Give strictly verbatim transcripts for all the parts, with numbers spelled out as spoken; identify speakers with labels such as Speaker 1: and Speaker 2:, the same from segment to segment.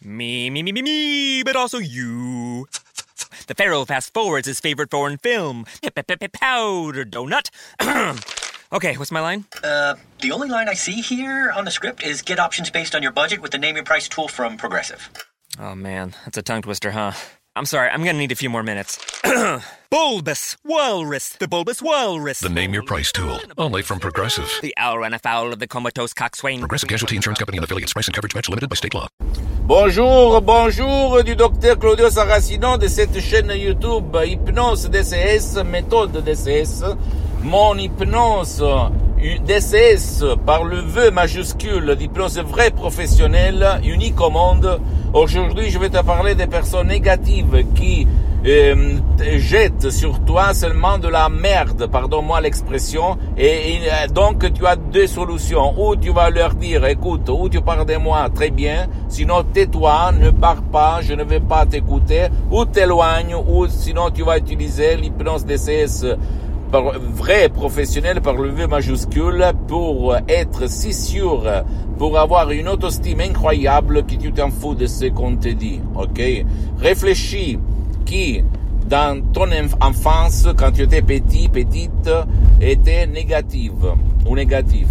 Speaker 1: Me, me, me, me, me, but also you. The Pharaoh fast forwards his favorite foreign film, Powder Donut. Okay, what's my line?
Speaker 2: Uh, the only line I see here on the script is get options based on your budget with the Name Your Price tool from Progressive.
Speaker 1: Oh man, that's a tongue twister, huh? I'm sorry, I'm gonna need a few more minutes. Bulbous Walrus, the Bulbous Walrus.
Speaker 3: The Name Your Price tool, only from Progressive.
Speaker 1: The owl ran afoul of the comatose coxswain.
Speaker 3: Progressive Casualty Insurance Company and affiliates. Price and coverage match limited by state law.
Speaker 4: Bonjour, bonjour du docteur Claudio Saracino de cette chaîne YouTube Hypnose D C S, méthode D C S. Mon hypnose D C S par le V majuscule d'hypnose vraie professionnelle, unique au monde. Aujourd'hui, je vais te parler des personnes négatives qui euh, jettent sur toi seulement de la merde, pardonne-moi l'expression, et, et donc tu as deux solutions. Ou tu vas leur dire, écoute, ou tu parles de moi, très bien, sinon tais-toi, ne pars pas, je ne vais pas t'écouter, ou t'éloignes, ou sinon tu vas utiliser l'hypnose D C S par vrai professionnel par le V majuscule pour être si sûr, pour avoir une autoestime incroyable que tu t'en fous de ce qu'on te dit, ok? Réfléchis qui, dans ton enfance, quand tu étais petit, petite, était négative ou négatif,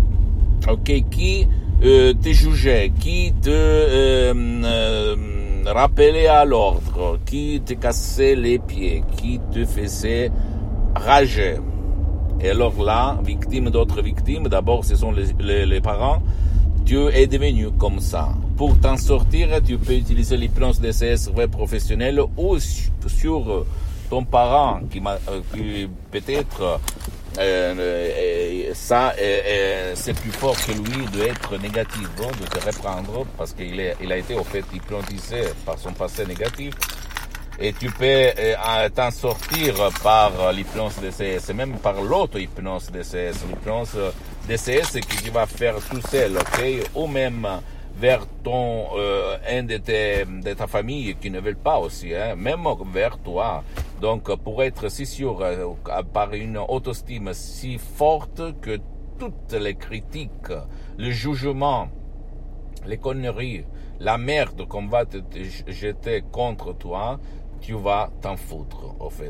Speaker 4: ok? Qui euh, te jugeait, qui te euh, euh, rappelait à l'ordre, qui te cassait les pieds, qui te faisait rager. Et alors là, victime d'autres victimes, d'abord ce sont les, les, les parents, tu es devenu comme ça. Pour t'en sortir, tu peux utiliser l'hypnose D C S vrai professionnel ou sur ton parent qui, m'a, qui peut-être euh, euh, ça euh, c'est plus fort que lui d'être négatif, hein, de te reprendre parce qu'il est, il a été au fait hypnotisé par son passé négatif. Et tu peux euh, t'en sortir par l'hypnose D C S, même par l'auto-hypnose D C S, l'hypnose D C S que tu vas faire tout seul, ok? Ou même vers ton, euh, un de, tes, de ta famille qui ne veulent pas aussi, hein? Même vers toi. Donc, pour être si sûr, euh, par une autoestime si forte que toutes les critiques, le jugement, les conneries, la merde qu'on va te, te jeter contre toi, tu vas t'en foutre, au fait.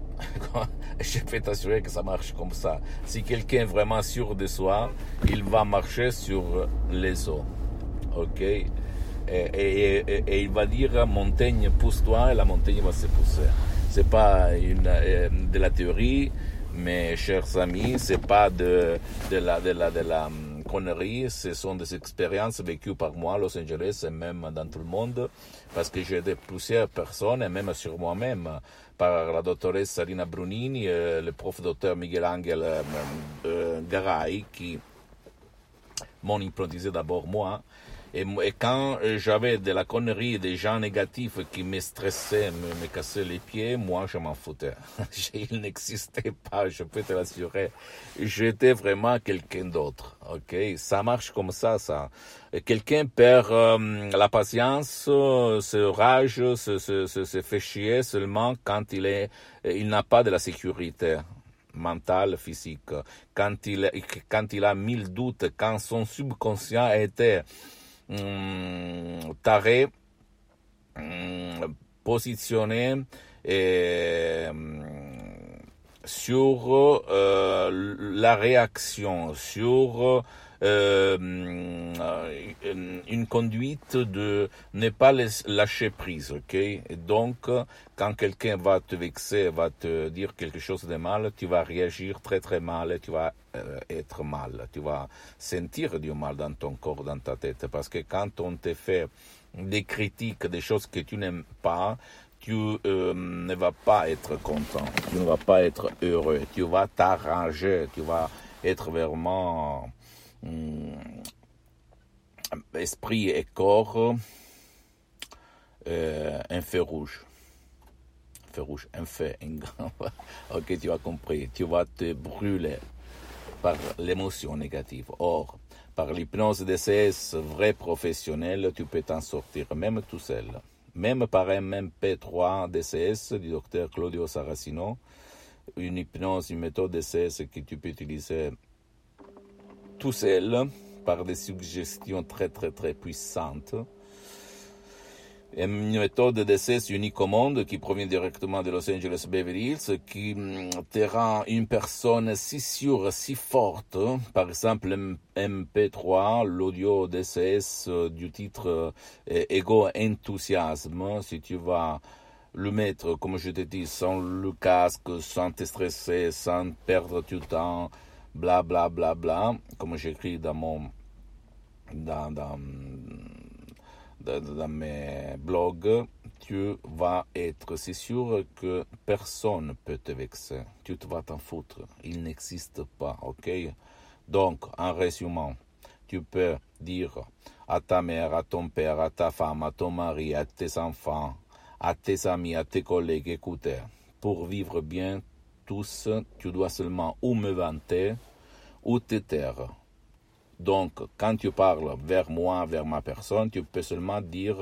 Speaker 4: Je peux t'assurer que ça marche comme ça. Si quelqu'un est vraiment sûr de soi, il va marcher sur les eaux. Ok? Et, et, et, et il va dire, montagne, pousse-toi, et la montagne va se pousser. C'est pas une, euh, de la théorie, mes chers amis, c'est pas de, de la, de la, de la, conneries, ce sont des expériences vécues par moi à Los Angeles et même dans tout le monde, parce que j'ai aidé plusieurs personnes, et même sur moi-même, par la doctoresse Salina Brunini, et le prof docteur Miguel Angel euh, euh, Garay, qui m'ont hypnotisé d'abord moi. Et, et quand j'avais de la connerie, des gens négatifs qui me stressaient, me, me cassaient les pieds, moi je m'en foutais. Il n'existait pas, je peux te l'assurer. J'étais vraiment quelqu'un d'autre. Ok, ça marche comme ça, ça. Et quelqu'un perd euh, la patience, se rage, se, se, se, se fait chier seulement quand il est, il n'a pas de la sécurité mentale, physique. Quand il, quand il a mille doutes, quand son subconscient était Hum, taré, hum, positionné et, hum, sur euh, la réaction, sur euh, une conduite de ne pas lâcher prise, ok? Et donc, quand quelqu'un va te vexer, va te dire quelque chose de mal, tu vas réagir très très mal et tu vas euh, être mal. Tu vas sentir du mal dans ton corps, dans ta tête. Parce que quand on te fait des critiques, des choses que tu n'aimes pas, tu euh, ne vas pas être content, tu ne vas pas être heureux, tu vas t'arranger, tu vas être vraiment hum, esprit et corps euh, un feu rouge. Un feu rouge, un feu, un grand. Ok, tu as compris, tu vas te brûler par l'émotion négative. Or, par l'hypnose D C S vrai professionnel, tu peux t'en sortir, même tout seul. Même par un M P trois D C S du docteur Claudio Saracino, une hypnose, une méthode D C S que tu peux utiliser tout seul, par des suggestions très très très puissantes. une méthode d'essai unique au monde qui provient directement de Los Angeles Beverly Hills, qui te rend une personne si sûre, si forte. Par exemple, M P trois, l'audio D C S du titre Ego Enthousiasme, si tu vas le mettre, comme je te dis, sans le casque, sans te stresser, sans perdre du temps, bla bla bla bla, comme j'écris dans mon dans, dans dans mes blogs, tu vas être si sûr que personne ne peut te vexer. Tu te vas t'en foutre. Il n'existe pas, ok? Donc, en résumant, tu peux dire à ta mère, à ton père, à ta femme, à ton mari, à tes enfants, à tes amis, à tes collègues, écoutez, pour vivre bien tous, tu dois seulement ou me vanter ou te taire. Donc, quand tu parles vers moi, vers ma personne, tu peux seulement dire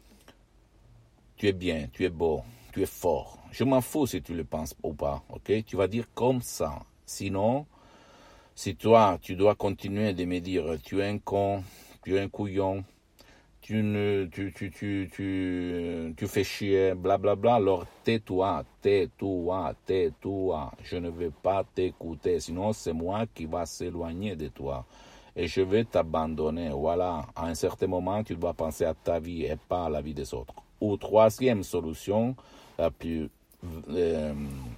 Speaker 4: « tu es bien, tu es beau, tu es fort ». Je m'en fous si tu le penses ou pas, ok? Tu vas dire comme ça. Sinon, si toi, tu dois continuer de me dire « tu es un con, tu es un couillon, tu, ne, tu, tu, tu, tu, tu fais chier, blablabla bla, bla, alors tais-toi, tais-toi, tais-toi. Je ne veux pas t'écouter, sinon c'est moi qui va s'éloigner de toi. Et je vais t'abandonner. Voilà, à un certain moment, tu dois penser à ta vie et pas à la vie des autres. Ou troisième solution, la plus euh,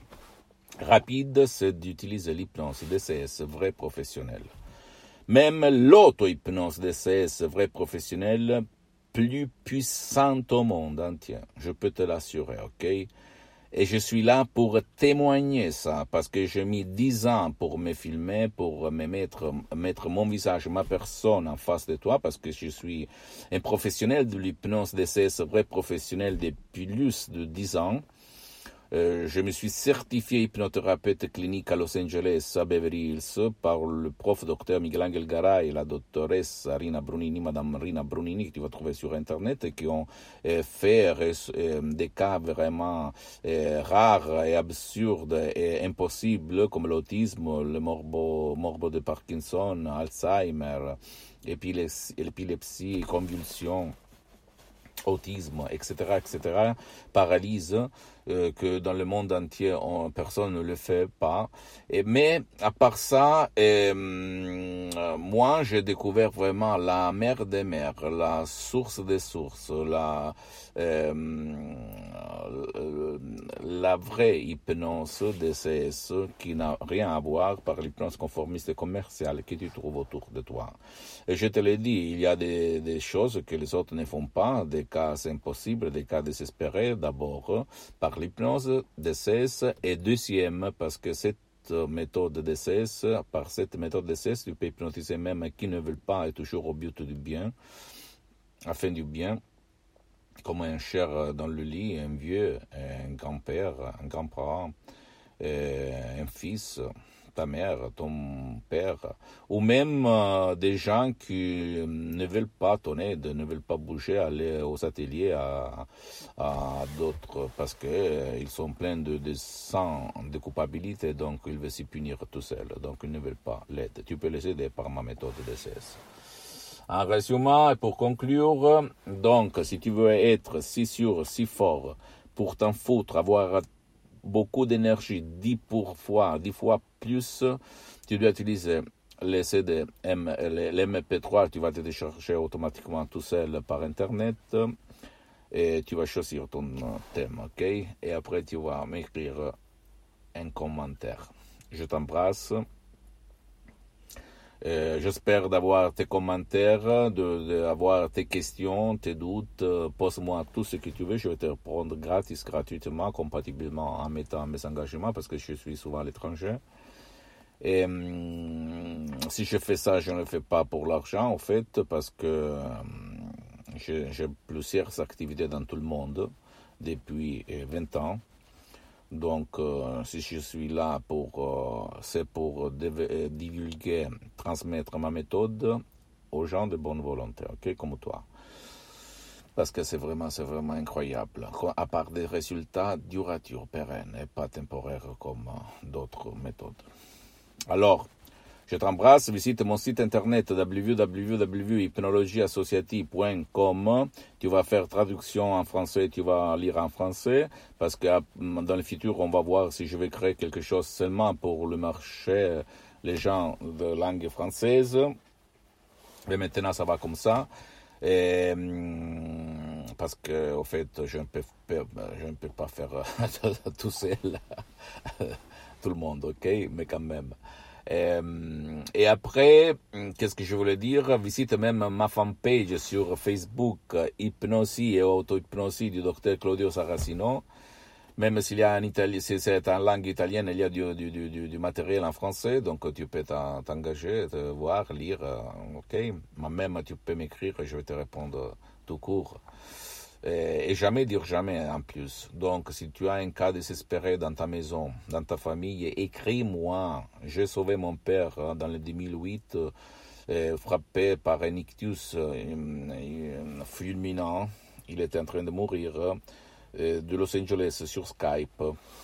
Speaker 4: rapide, c'est d'utiliser l'hypnose D C S vrai professionnel. Même l'auto-hypnose D C S vrai professionnel, plus puissante au monde entier. Je peux te l'assurer, ok? Et je suis là pour témoigner ça, parce que j'ai mis dix ans pour me filmer, pour me mettre, mettre mon visage, ma personne en face de toi, parce que je suis un professionnel de l'hypnose D C S, vrai professionnel depuis plus de dix ans. Euh, je me suis certifié hypnothérapeute clinique à Los Angeles, à Beverly Hills, par le prof docteur Miguel Angel Garay et la doctoresse Rina Brunini, madame Rina Brunini, que tu vas trouver sur Internet, et qui ont euh, fait euh, des cas vraiment euh, rares et absurdes et impossibles, comme l'autisme, le morbo, morbo de Parkinson, Alzheimer, épilepsie, convulsions, autisme, et cetera, et cetera, paralyse, euh, que dans le monde entier, on, personne ne le fait pas. Et, mais, à part ça, euh, moi, j'ai découvert vraiment la mère des mères, la source des sources, la, euh, la vraie hypnose D C S qui n'a rien à voir par l'hypnose conformiste et commerciale que tu trouves autour de toi. Et je te l'ai dit, il y a des, des choses que les autres ne font pas, des cas impossibles, des cas désespérés, d'abord par l'hypnose D C S, et deuxième, parce que cette méthode D C S, par cette méthode D C S, tu peux hypnotiser même qui ne veulent pas et toujours au but du bien, afin du bien, comme un cher dans le lit, un vieux, un grand-père, un grand-parent, un fils, ta mère, ton père, ou même euh, des gens qui ne veulent pas ton aide, ne veulent pas bouger, aller aux ateliers à, à d'autres, parce que euh, ils sont pleins de, de sang, de culpabilité, donc ils veulent s'y punir tout seuls, donc ils ne veulent pas l'aide. Tu peux les aider par ma méthode D C S. En résumé, et pour conclure, donc, si tu veux être si sûr, si fort, pour t'en foutre, avoir beaucoup d'énergie, dix fois, dix fois plus, tu dois utiliser les C D, M, les M P trois, tu vas te télécharger automatiquement tout seul par Internet, et tu vas choisir ton thème, ok? Et après, tu vas m'écrire un commentaire. Je t'embrasse. Euh, j'espère d'avoir tes commentaires, d'avoir tes questions, tes doutes. Euh, pose-moi tout ce que tu veux, je vais te répondre gratis, gratuitement, compatiblement en mettant mes engagements, parce que je suis souvent à l'étranger. Et hum, si je fais ça, je ne le fais pas pour l'argent, en fait, parce que hum, j'ai, j'ai plusieurs activités dans tout le monde depuis vingt ans. Donc, euh, si je suis là, pour, euh, c'est pour div- divulguer, transmettre ma méthode aux gens de bonne volonté, ok, comme toi. Parce que c'est vraiment, c'est vraiment incroyable. À part des résultats duratures, pérennes, et pas temporaires comme euh, d'autres méthodes. Alors, Je t'embrasse, visite mon site internet w w w point hypnologie associative point com. Tu vas faire traduction en français, tu vas lire en français, parce que dans le futur, on va voir si je vais créer quelque chose seulement pour le marché, les gens de langue française. Mais maintenant, ça va comme ça. Et, parce que, au fait, je ne peux, je ne peux pas faire tout seul, tout le monde, ok? Mais quand même. Et, et après, qu'est-ce que je voulais dire? Visite même ma fanpage sur Facebook, Hypnosie et Auto-Hypnosie du docteur Claudio Saracino. Même s'il y a en Italie, si c'est en langue italienne, il y a du, du, du, du matériel en français, donc tu peux t'engager, te voir, lire, ok? Mais même tu peux m'écrire et je vais te répondre tout court. Et, et jamais dire jamais en plus. Donc si tu as un cas désespéré dans ta maison, dans ta famille, écris-moi. J'ai sauvé mon père dans le deux mille huit, euh, frappé par un ictus euh, fulminant. Il était en train de mourir. De Los Angeles sur Skype,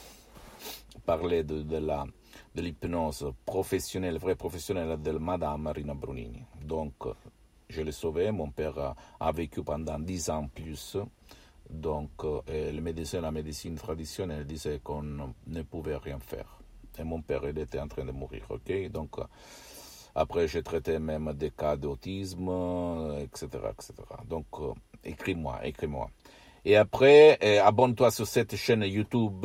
Speaker 4: parler de, de, la, de l'hypnose professionnelle, vraie professionnelle de Madame Rina Brunini. Donc, je l'ai sauvé. Mon père a, a vécu pendant dix ans plus. Donc, euh, le médecin, la médecine traditionnelle disait qu'on ne pouvait rien faire. Et mon père, il était en train de mourir, ok? Donc, après, j'ai traité même des cas d'autisme, et cetera, et cetera. Donc, euh, écris-moi, écris-moi. Et après, eh, abonne-toi sur cette chaîne YouTube,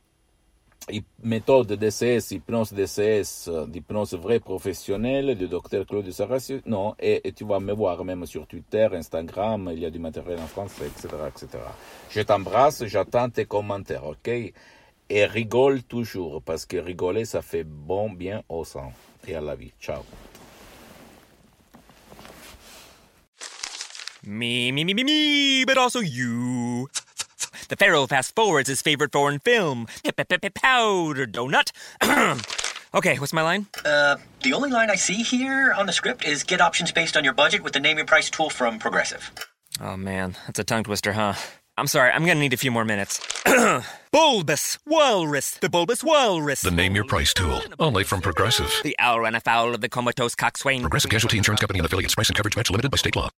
Speaker 4: méthode D C S, hypnose D C S, d'hypnose vraie professionnelle, du docteur Claudio Saracino, et, et tu vas me voir même sur Twitter, Instagram, il y a du matériel en français, et cetera, et cetera. Je t'embrasse, j'attends tes commentaires, ok? Et rigole toujours, parce que rigoler, ça fait bon bien au sang et à la vie. Ciao.
Speaker 1: Me, me, me, me, me, but also you. The Pharaoh fast forwards his favorite foreign film, Powder Donut. Okay, what's my line?
Speaker 2: Uh, the only line I see here on the script is get options based on your budget with the Name Your Price tool from Progressive.
Speaker 1: Oh man, that's a tongue twister, huh? I'm sorry, I'm gonna need a few more minutes. Bulbous Walrus, the Bulbous Walrus.
Speaker 3: The Name Your Price tool, only from Progressive.
Speaker 1: The owl ran afoul of the comatose coxswain.
Speaker 3: Progressive Casualty Insurance Company and affiliates. Price and coverage match limited by state law.